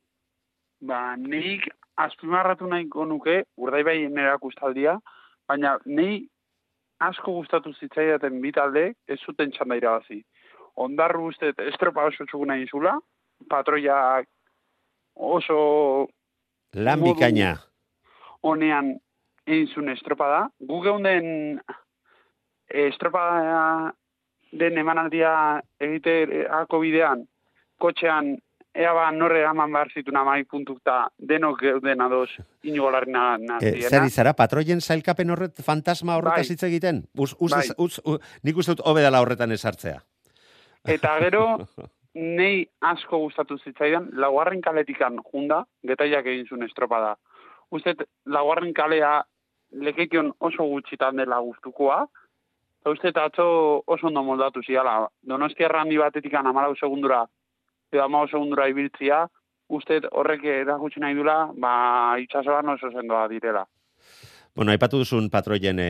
Nik azpimarratu nahiko nuke, Urdaibai erakustaldia, baina nei asko gustatu zitzaidaten bi talde, ez zuten txanda irabazi. Ondarru uste estropa oso txuguna inzula, patroia oso lan bikaina honean egin zuen estropada. Gu geunden estropada den emanaldia egiteako bidean, kotxean, ea norre eman behar zituen amai puntukta denok geuden ados Inigo Larrina naziena. Zer izara, patroien zailkapen horret, fantasma horretaz hitz egiten? Nik uste dut hobe dela horretan esartzea. Eta gero, nei asko gustatu zitzaidan, laugarren kaletikan junda, getaiak egin zuen estropada. Uste, laugarren kalea lekeikion oso gutxitan dela gustukoa, eta uste, atzo oso ondo moldatu ziala. Donostiarra handi batetikan 14 segundura, edo 15 segundura ibiltzia, uste horrek erakutsi nahi dula, itxasoan oso sendoa direla. Bueno, aipatu duzun patroien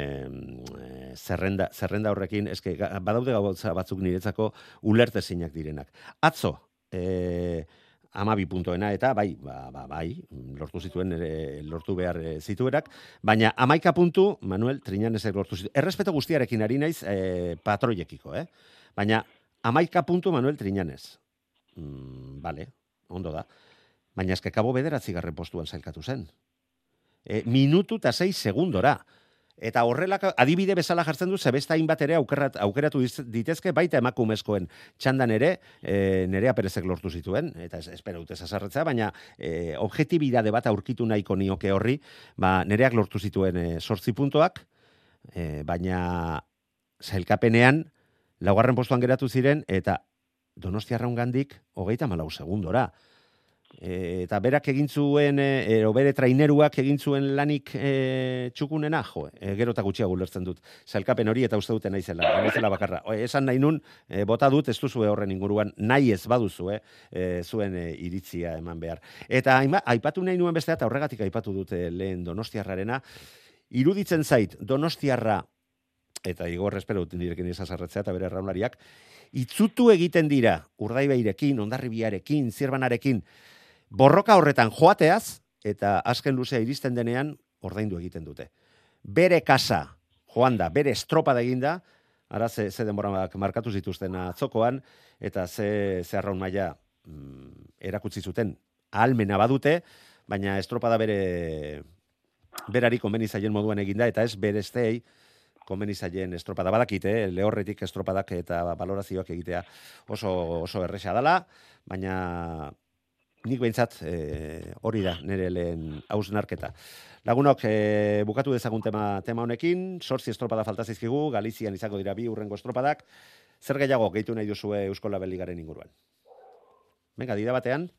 zerrenda horrekin, eske badaude gauza batzuk niretzako ulertezinak direnak. Atzo, 12 puntoena, eta bai, lortu zituen, lortu behar zituerak, baina 11 puntu, Manuel Triñanesek lortu zituen. Errespeto guztiarekin ari naiz patroiekiko, baina 11 puntu Manuel Triñanes. Vale, ondo da. Baina eske Kabo 9. postuan zailkatu zen. Minutu eta 6 segundora. Eta horrelako adibide bezala jartzen du, zebesta hainbat ere aukeratu ditezke, baita emakumezkoen txandan ere, Nerea Perezek lortu zituen, eta espero dut ezazarretzea, baina objektibidade bat aurkitu nahiko nioke horri, Nereak lortu zituen 8 puntoak, baina zailkapenean, 4. postuan geratu ziren, eta Donostiarra ungandik 34 segundora. Eta berak egin zuen, bere traineruak egin zuen lanik txukunena, gero eta gutxiago ulertzen dut. Zailkapen hori eta uste duten naizela bakarra. Esan nahi nun, bota dut, ez duzue horren inguruan, nahi ez baduzu, zuen iritzia eman behar. Eta aipatu nahi nuen bestea, eta horregatik aipatu dute lehen Donostiarrarena, iruditzen zait Donostiarra, eta Igor espero dut direken izazarretzea eta bere raunlariak, itzutu egiten dira Urdaibairekin, Hondarribiarekin, Zirbanarekin, borroka horretan joateaz, eta azken luzea iristen denean, ordaindu egiten dute. Bere kasa, joan da, bere estropada eginda, ara ze denbora markatu zituzten atzokoan, eta ze arraun maila erakutsi zuten, ahalmena badute, baina estropada berari konbenizaien moduan eginda, eta ez bere estei, konbenizaien estropada badakite, lehorretik estropadak eta balorazioak egitea oso erresa dela, baina nik behintzat hori da nire lehen hausnarketa. Lagunok, bukatu dezagun tema honekin, 8 estropada falta zaizkigu, Galizian izango dira 2 hurrengo estropadak, zer gehiago gehitu nahi duzue Eusko Label Ligaren inguruan? Venga, dira batean?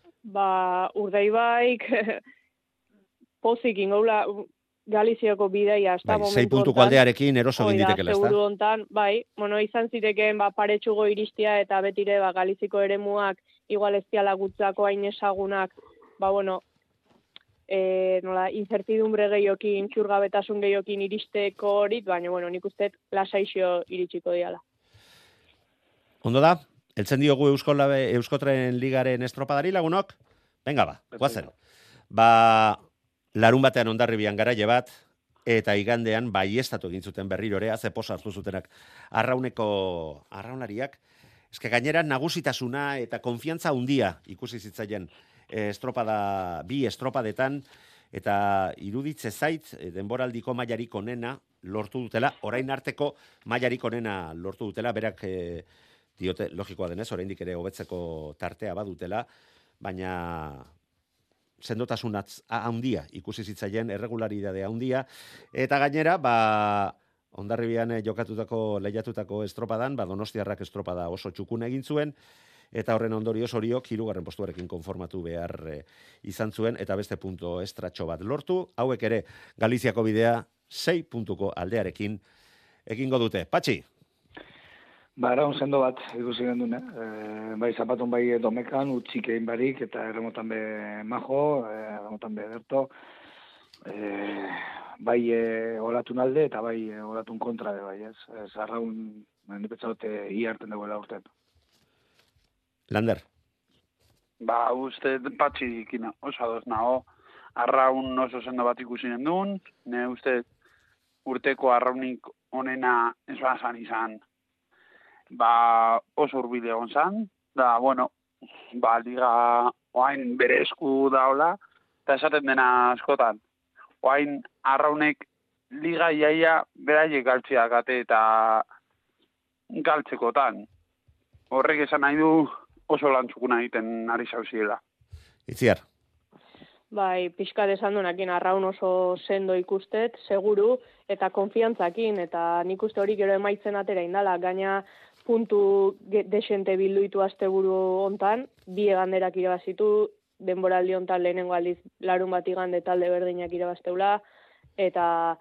Urdaibaik pozik ingoula Galiziako bidaia, hasta momentu 6 puntuko aldearekin eroso egin ditekela, ezta? Seguru hontan, izan zitekeen paretsugo iristia eta betire Galiziko eremuak igual ez diala gutzako hain ezagunak, incertidumbre gehiokin, txurgabetasun gehiokin iristeko horit, baina nik uste lasaixo iritsiko diala. Ondo da? Eltzen diogu Euskotren Ligaren estropadari lagunok? Venga guazen. Larun batean Hondarribian garaile bat, eta igandean baiestatu egin zuten berriro ere, ze posa hartu zutenak arraunlariak. Eske gainera nagusitasuna eta konfiantza handia ikusi zitzaien bi estropadetan, eta iruditze zait denboraldiko mailarik onena lortu dutela, orain arteko mailarik onena lortu dutela, berak diote logikoa denez, oraindik ere hobetzeko tartea badutela, baina sendotasun handia ikusi zitzaien, erregularidade handia, eta gainera, Hondarribian lehiatutako estropadan, Donostiarrak estropada oso txukun egin zuen, eta horren ondorioz Oriok 3. postuarekin konformatu behar izan zuen, eta beste punto estratxo bat lortu, hauek ere Galiziako bidea 6 puntuko aldearekin egingo dute. Patxi? Araun sendo bat ikusi gendun, bai zapatun bai domekan, utxik egin barik, eta erremotan be majo, erremotan be berto, bai olatun alde, eta bai olatun kontra de bai, ez? Arraun, nipetzaute iarten duela urten. Lander? Uste patxikin oso adoz nago, arraun oso sendo bat ikusi gendun, ne uste urteko arraunik onena esan izan, oso urbile egon zan, liga oain bere esku daola, eta esaten dena askotan. Oain arraunek liga iaia beraiek galtziak ate eta galtzekotan. Horrek esan nahi du oso lantzukuna egiten ari zauziela. Itziar? Bai, pixka desan duenakin arraun oso sendo ikustet, seguru, eta konfiantzakin, eta nik uste hori gero emaitzen atera indala, gaina puntu desente bilduitu asteburu hontan, 2 eganderak irabazitu, denboraldi hontan lehenengo aldiz larun bat igande talde berdinak irabazteula, eta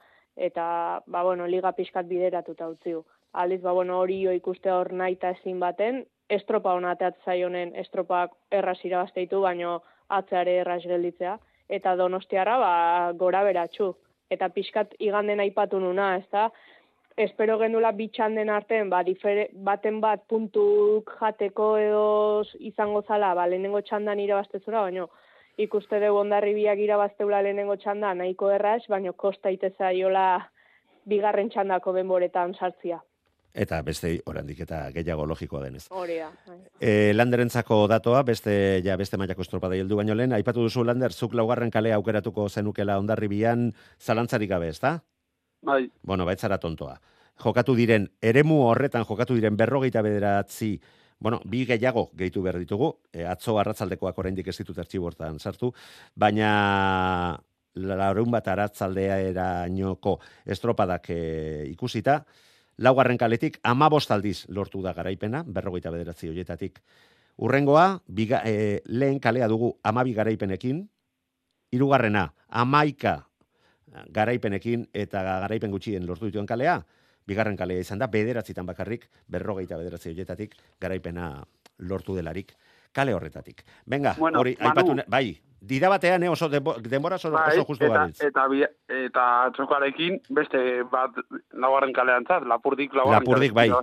liga pixkat bideratuta utziu. Aldiz, hori ikuste hor nahi eta ezin baten, estropa hona zaionen estropak erraz irabazteitu, baino atzeare erraz gelditzea, eta Donostiarra gora beratxu. Eta pixkat iganden aipatu nuna, ez da? Espero gendula bitxanden artean, baten bat puntuk jateko edo izango zala, lehenengo txandan irabaztezura, baina ikuste dugu Hondarribiak irabazteula lehenengo txandan nahiko erraz, baina kosta itezaiola 2. txandako denboretan sartzia. Eta beste oraindik eta gehiago logikoa denez. Hori da. Landerentzako datoa, beste mailako estropada heldu baino lehen, aipatu duzu Lander, zuk 4. kalea aukeratuko zenukela Hondarribian zalantzarik gabe, ezta? Bai. Bueno, baitzara tontoa. Eremu horretan jokatu diren 29, 2 gehiago gehitu behar ditugu, atzo arratzaldekoak oraindik ez ditut artxibortan sartu, baina larun bat arratzaldea erainoko estropadak ikusita, 4. kaletik 15 aldiz lortu da garaipena, 29 horietatik. Urrengoa, lehen kalea dugu 12 garaipenekin, 3. 11 garaipenekin eta garaipen gutxien lortu dituen kalea, 2. kalea izan da, 9 bakarrik, 29 horietatik garaipena lortu delarik kale horretatik. Venga, hori, aipatu, bai, dira batean, oso denbora oso justu gabiltz. Eta txokarekin, beste bat 4. kalean zat, Lapurdik, bai.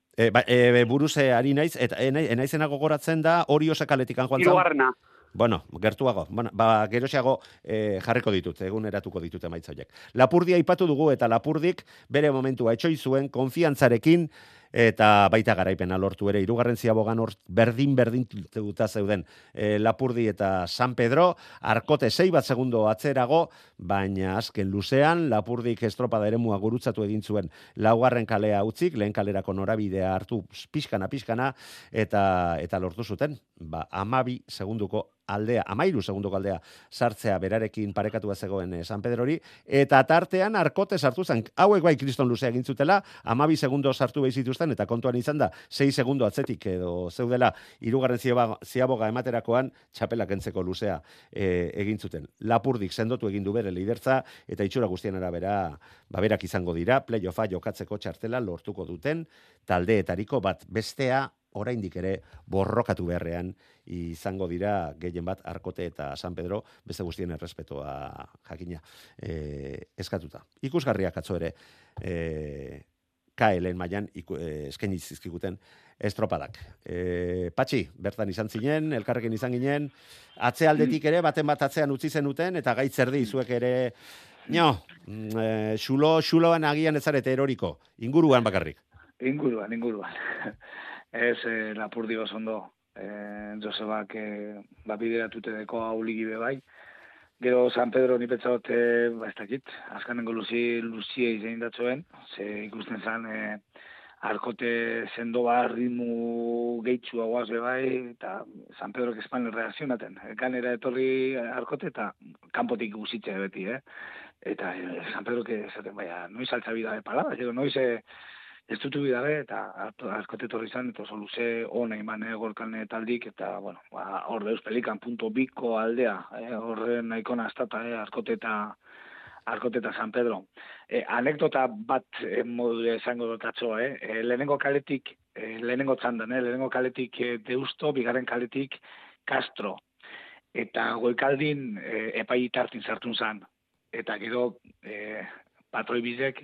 Buruze ari naiz, eta naizena gogoratzen da, hori osakaletik joan zan. 3. Bueno, gertuago. Geroxeago jarriko ditut, eguneratuko ditut emaitza horiek. Lapurdia aipatu dugu eta Lapurdik bere momentua etxoi zuen konfiantzarekin eta baita garaipena lortu ere 3. ziabogan hor berdin duta zeuden Lapurdi eta San Pedro, Arkote 6 segundo atzerago, baina azken luzean Lapurdik estropada eremua gurutzatu egin zuen 4. kalea utzik, lehen kalerako norabidea hartu pixkana eta lortu zuten, 12 segundoko aldea, 13 segundoko aldea sartzea berarekin parekatua zegoen San Pedrori, eta tartean Arkote sartu zen, hauek bai kriston luzea egin zutela, 12 segundo sartu behi zituzten, eta kontuan izan da, 6 segundo atzetik edo zeudela, 3. ziaboga ematerakoan, txapelak entzeko luzea egin zuten. Lapurdik sendotu egin du bere lidertza, eta itxura guztien arabera, berak izango dira, playoffa jokatzeko txartela lortuko duten, taldeetariko bat bestea, oraindik ere borrokatu beharrean izango dira gehien bat Arkote eta San Pedro, beste guztien errespetoa jakina eskatuta. Ikusgarriak atzo ere KL mailan eskaini zizkiguten estropadak. Patxi, bertan izan zinen, elkarrekin izan ginen, atzealdetik ere, baten bat atzean utzi zenuten, eta gaitzerdi zuek ere, xuloan agian ezarete eroriko, inguruan bakarrik. Inguruan. Ez Lapurdi ondo, Josebak bideratute deko auligi bai. Gero San Pedro nipetzaot, ez dakit, azkanengo luzie izan datzoen, ze ikusten zan Arkote sendo ritmu gehitzu hauaz bai, eta San Pedro espan reakzionaten. Ganera etorri Arkote eta kanpotik guzitze beti, eta San Pedro que esaten baina, noiz altzabida de palabras, noiz ez dutu bidabe, eta askote torri izan, eta oso luze ona iman gorkan taldik, eta, bueno, hor deus pelikan punto biko aldea, horren nahikona astata, Arkota eta San Pedro. Anekdota bat modu esango dotatxo, lehenengo kaletik, lehenengo txandan, lehenengo kaletik Deusto, bigarren kaletik Castro, eta goikaldin epai tartin sartun zan, eta gero patroi bizek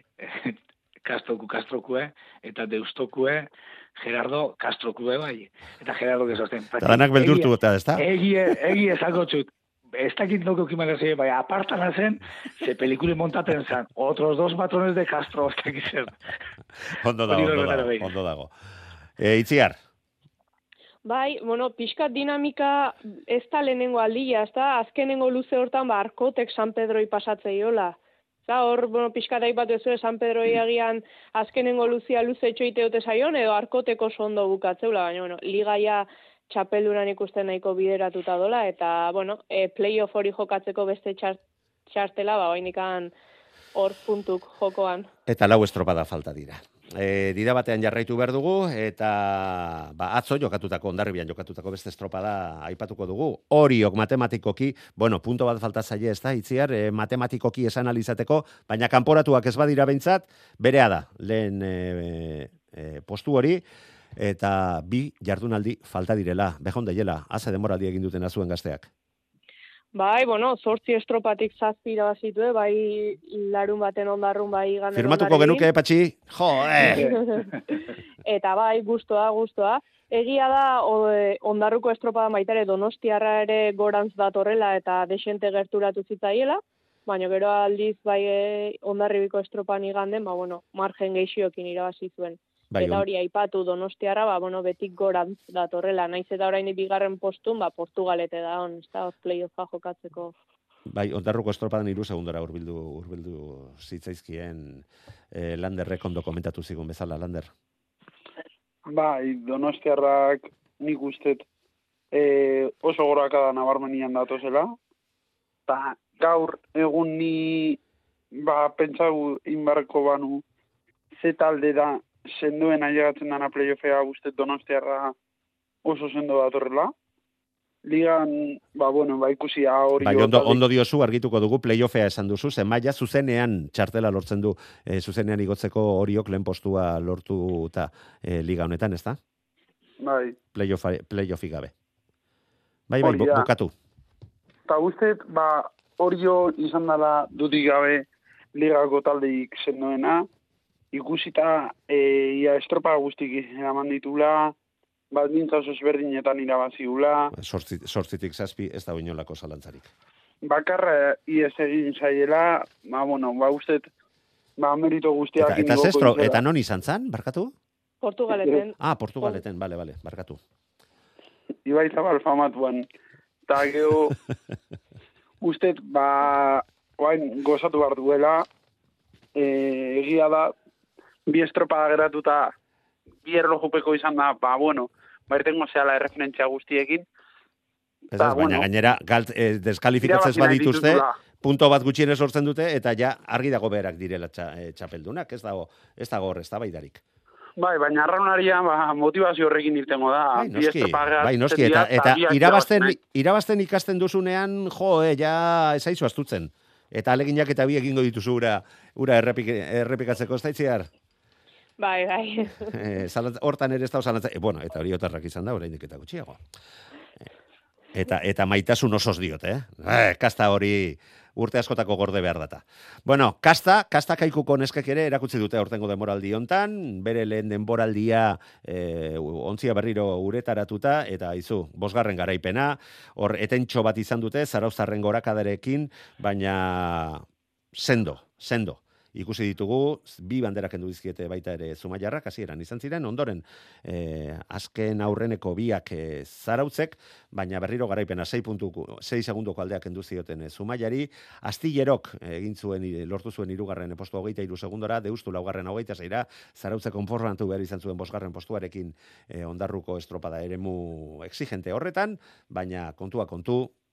Castrokue, eta Deustokue, Gerardo Castrokue bai, eta Gerardo gezosten. Eta danak beldurtu eta, ez da? Egi esango txut. Ez dakit nuke okimara zen, bai, apartana zen, ze pelikule montaten zen. Otros dos patrones de Castro, ez dakit zen. Ondo dago. Itziar? Bai, bueno, pixkat dinamika ez da lehenengo aldia, ez da, azkenengo luze hortan, Arkotek San Pedroi pasatzeiola. Hor, bueno, pixkat aipatu ez San Pedroi agian azkenengo luzea luze etxoiteote zaion, edo Arkoteko sondo bukatzeula, baina, bueno, ligaia txapelduran ikusten nahiko bideratuta dola, eta, bueno, playoff hori jokatzeko beste txartela, bainikan hor puntuk jokoan. Eta 4 estropada falta dira. Dira batean jarraitu behar dugu, eta atzo jokatutako, Hondarribian jokatutako beste estropada aipatuko dugu. Oriok matematikoki, bueno, punto bat falta zaie ez da, Itziar, matematikoki esan alizateko, baina kanporatuak ez badira behintzat, berea da, lehen postu hori, eta 2 jardunaldi falta direla, behon daiela, haze demoraldi egin duten azuen gazteak. Bai, bueno, 8 estropatik 7 irabazitue, bai larun baten ondarrun, bai iganden Firmatuko genuke, Patxi? Jo, Eta bai, gustoa. Egia da, ondarruko estropada baitare Donostiarra ere gorantz datorrela eta desente gerturatu zitzaiela, baina gero aldiz bai Hondarribiko estropan iganden, bueno, margen geixiokin irabazi zuen. Bai, eta hori aipatu Donostiarra, bueno, betik gorantz datorrela, naiz eta orain bigarren postun, Portugalete da on, ez da, playoffa jokatzeko. Bai, Hondarruko estropadan 3 segundora urbildu zitzaizkien Landerrek ondo komentatu zigun bezala, Lander. Bai, Donostiarrak nik ustet oso gorakada nabarmenian datozela, eta gaur egun ni pentsau inbarko banu ze talde da senduen ailegatzen dana playoffea ustet Donostiarra oso sendo datorrela. Ligan, ikusi hori... Bai, ondo diozu argituko dugu playoffea esan duzu, zenbaia zuzenean txartela lortzen du, zuzenean igotzeko Oriok lehen postua lortu eta liga honetan, ez da? Bai. Playoffi gabe. Bai, bukatu. Eta ustet, Orio izan dela dudik gabe ligako taldeik sendoena, ikusita estropa guztik eraman ditula, baldintza oso ezberdinetan irabaziula. 8tik 7 ez da inolako zalantzarik. Bakarra ies egin zaiela, ustet, merito guztiak... Eta non izan zan, barkatu? Portugaleten. Portugaleten, bale, barkatu. Ibai Zabal famatuan. Eta geho, ustet, gozatu behar duela, egia da, 2 estropada geratuta, 2 erlojupeko izan da, irtengo zehala erreferentzia guztiekin. Ez baina gainera, deskalifikatzez badituzte, punto bat gutxienez lortzen dute, eta ja argi dago berak direla txapeldunak, ez dago hor, ez da baidarik. Bai, baina arraunaria motivazio horrekin irtengo da. Bai, noski, eta irabazten ikasten duzunean, ja ezaizu astutzen. Eta aleginak eta bi egingo dituzu ura errepikatzeko, ez da Itziar? Bai. Hortan ere ez da osan eta hori otarrak izan da, oraindik eta gutxiago. Eta maitasun osoz diot, Kasta hori urte askotako gorde behar data. Bueno, kasta kaikuko neskek ere erakutsi dute aurtengo denboraldi hontan, bere lehen denboraldia ontzia berriro uretaratuta, eta 5. garaipena, hor etentxo bat izan dute, Zarauztarren gorakadarekin, baina sendo. Ikusi ditugu, 2 banderak kendu dizkiete baita ere Zumaiarrak, hasieran izan ziren, ondoren azken aurreneko 2 Zarautzek, baina berriro garaipena 6 segundoko aldeak kendu zioten Zumaiari, Astillerok lortu zuen 3. postua 23 segundora, Deustu 4. 26ra, Zarautzek konformatu behar izan zuen 5. postuarekin Hondarruko estropada eremu exigente horretan, baina kontua kontu,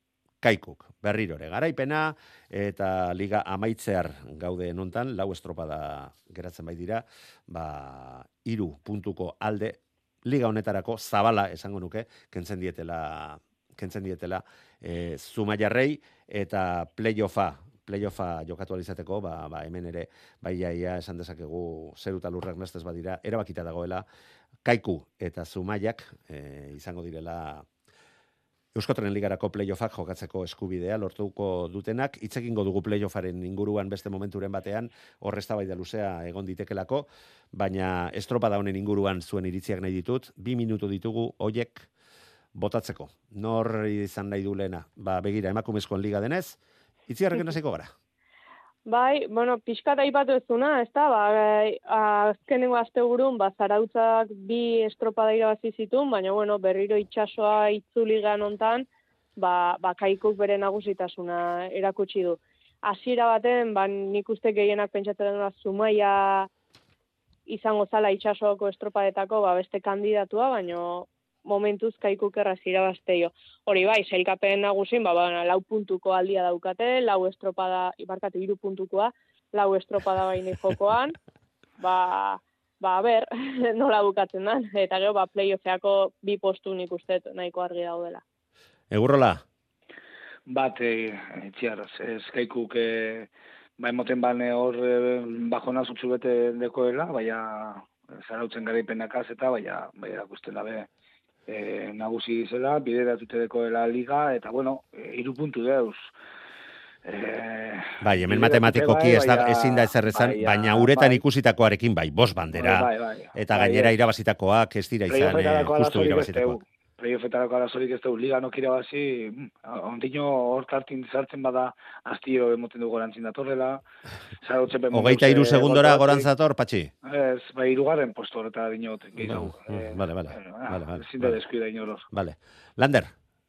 Kaikuk, berrirore garaipena, eta liga amaitzear gaude nontan, 4 estropada geratzen bai dira, 3 puntuko alde, liga honetarako zabala esango nuke, kentzen dietela Zumaiarrei, eta playoffa jokatu alizateko, hemen ere, iaia esan dezakegu zeru eta lurrak nestez badira, erabakita dagoela, Kaiku eta Zumaiak izango direla Euskotren Ligarako playoffak jokatzeko eskubidea lortuko dutenak, hitz egingo dugu playoffaren inguruan beste momenturen batean, hor eztabaida luzea egon ditekelako, baina estropada honen inguruan zuen iritziak nahi ditut, 2 minutu ditugu hoiek botatzeko. Nor izan nahi du lehena? Begira, emakumezkoen liga denez, itziarrekin hasiko gara. Bai, pixkat aipatu ez duna, ez da, azkenengo asteburun, Zarautzak 2 estropada irabazi zituen, baina, berriro itsasoa itzuligan hontan, Kaikuk bere nagusitasuna erakutsi du. Hasiera baten, nik uste gehienak pentsatzen dena Zumaia izango zala itsasoako estropadetako, beste kandidatua, baina momentuz Kaikuk erraz irabazteio. Hori bai, sailkapen nagusin, 4 puntuko aldia daukate, 4 estropada, 3 puntukoa, 4 estropada baini jokoan, ber, nola bukatzen da, eta gero, playoffeako 2 postu nik uste nahiko argi daudela. Egurrola? Itziarraz, ez Kaikuk, emoten bane hor bajona zutsu bete dekoela, Zarautzen garaipenakaz eta, akusten dabe, nagusi zela, bideratute dekoela liga, eta 3 puntu deuz. Hemen matematikoki ezin da ezer esan, baina uretan ikusitakoarekin 5 bandera, eta gainera irabazitakoak ez dira izan, justu irabazitakoak. Playoffetarako arazorik ez dugu, liga nok irabazi, ondino hor kartin zartzen bada, astiro emoten dugu gorantzin datorrela. 23 segundora gorantzator, Patxi? Ez, 3. posto horreta dinot, gehiago. Vale. Ezin da deskuida inoros. Vale. Lander?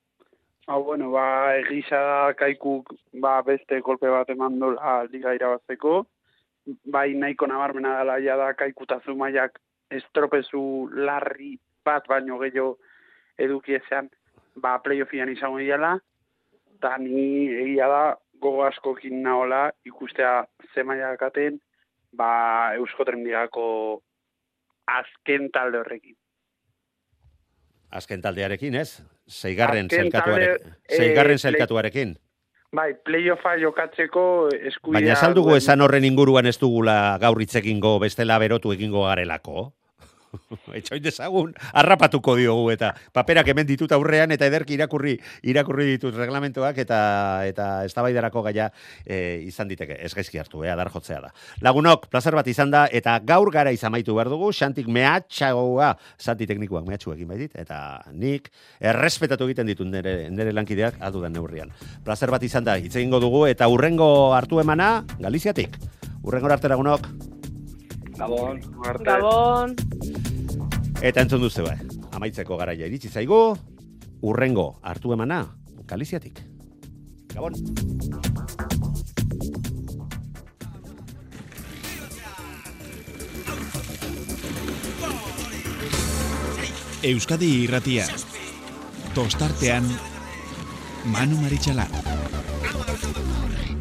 Egisa da Kaikuk, beste kolpe bat eman dola liga irabazteko. Nahiko nabarmena dela da Kaiku eta Zumaiak estropezu larri bat baino gehiago eduki ezean, playoffian izango diala, eta ni egia da gogo askokin nahola ikustea Zumaiakaten, Euskotren Ligako azken talde horrekin. Azken taldearekin, ez? 6. zelkatuarekin. Playoffa jokatzeko eskubidea... Baina saldugu esan horren inguruan ez dugula gaur hitz egingo, bestela berotu egingo garelako. Etxoin dezagun, harrapatuko diogu eta paperak hemen ditut aurrean eta ederki irakurri ditut reglamentoak eta eztabaidarako gaia izan diteke. Ez gaizki hartu, adar jotzea da. Lagunok, plazer bat izan da eta gaur gara izamaitu behar dugu, Xantik mehatxagoa, Santi teknikoak mehatxuekin baitit, eta nik errespetatu egiten ditut nire lankideak adudan neurrian. Plazer bat izan da, hitz egingo dugu eta urrengo hartu emana Galiziatik. Urrengo arte lagunok. Gabon. Eta entzun duzu amaitzeko garaia iritsi zaigu, urrengo hartu emana Galiziatik. Gabon. Euskadi Irratia. Tostartean Manu Marichalar.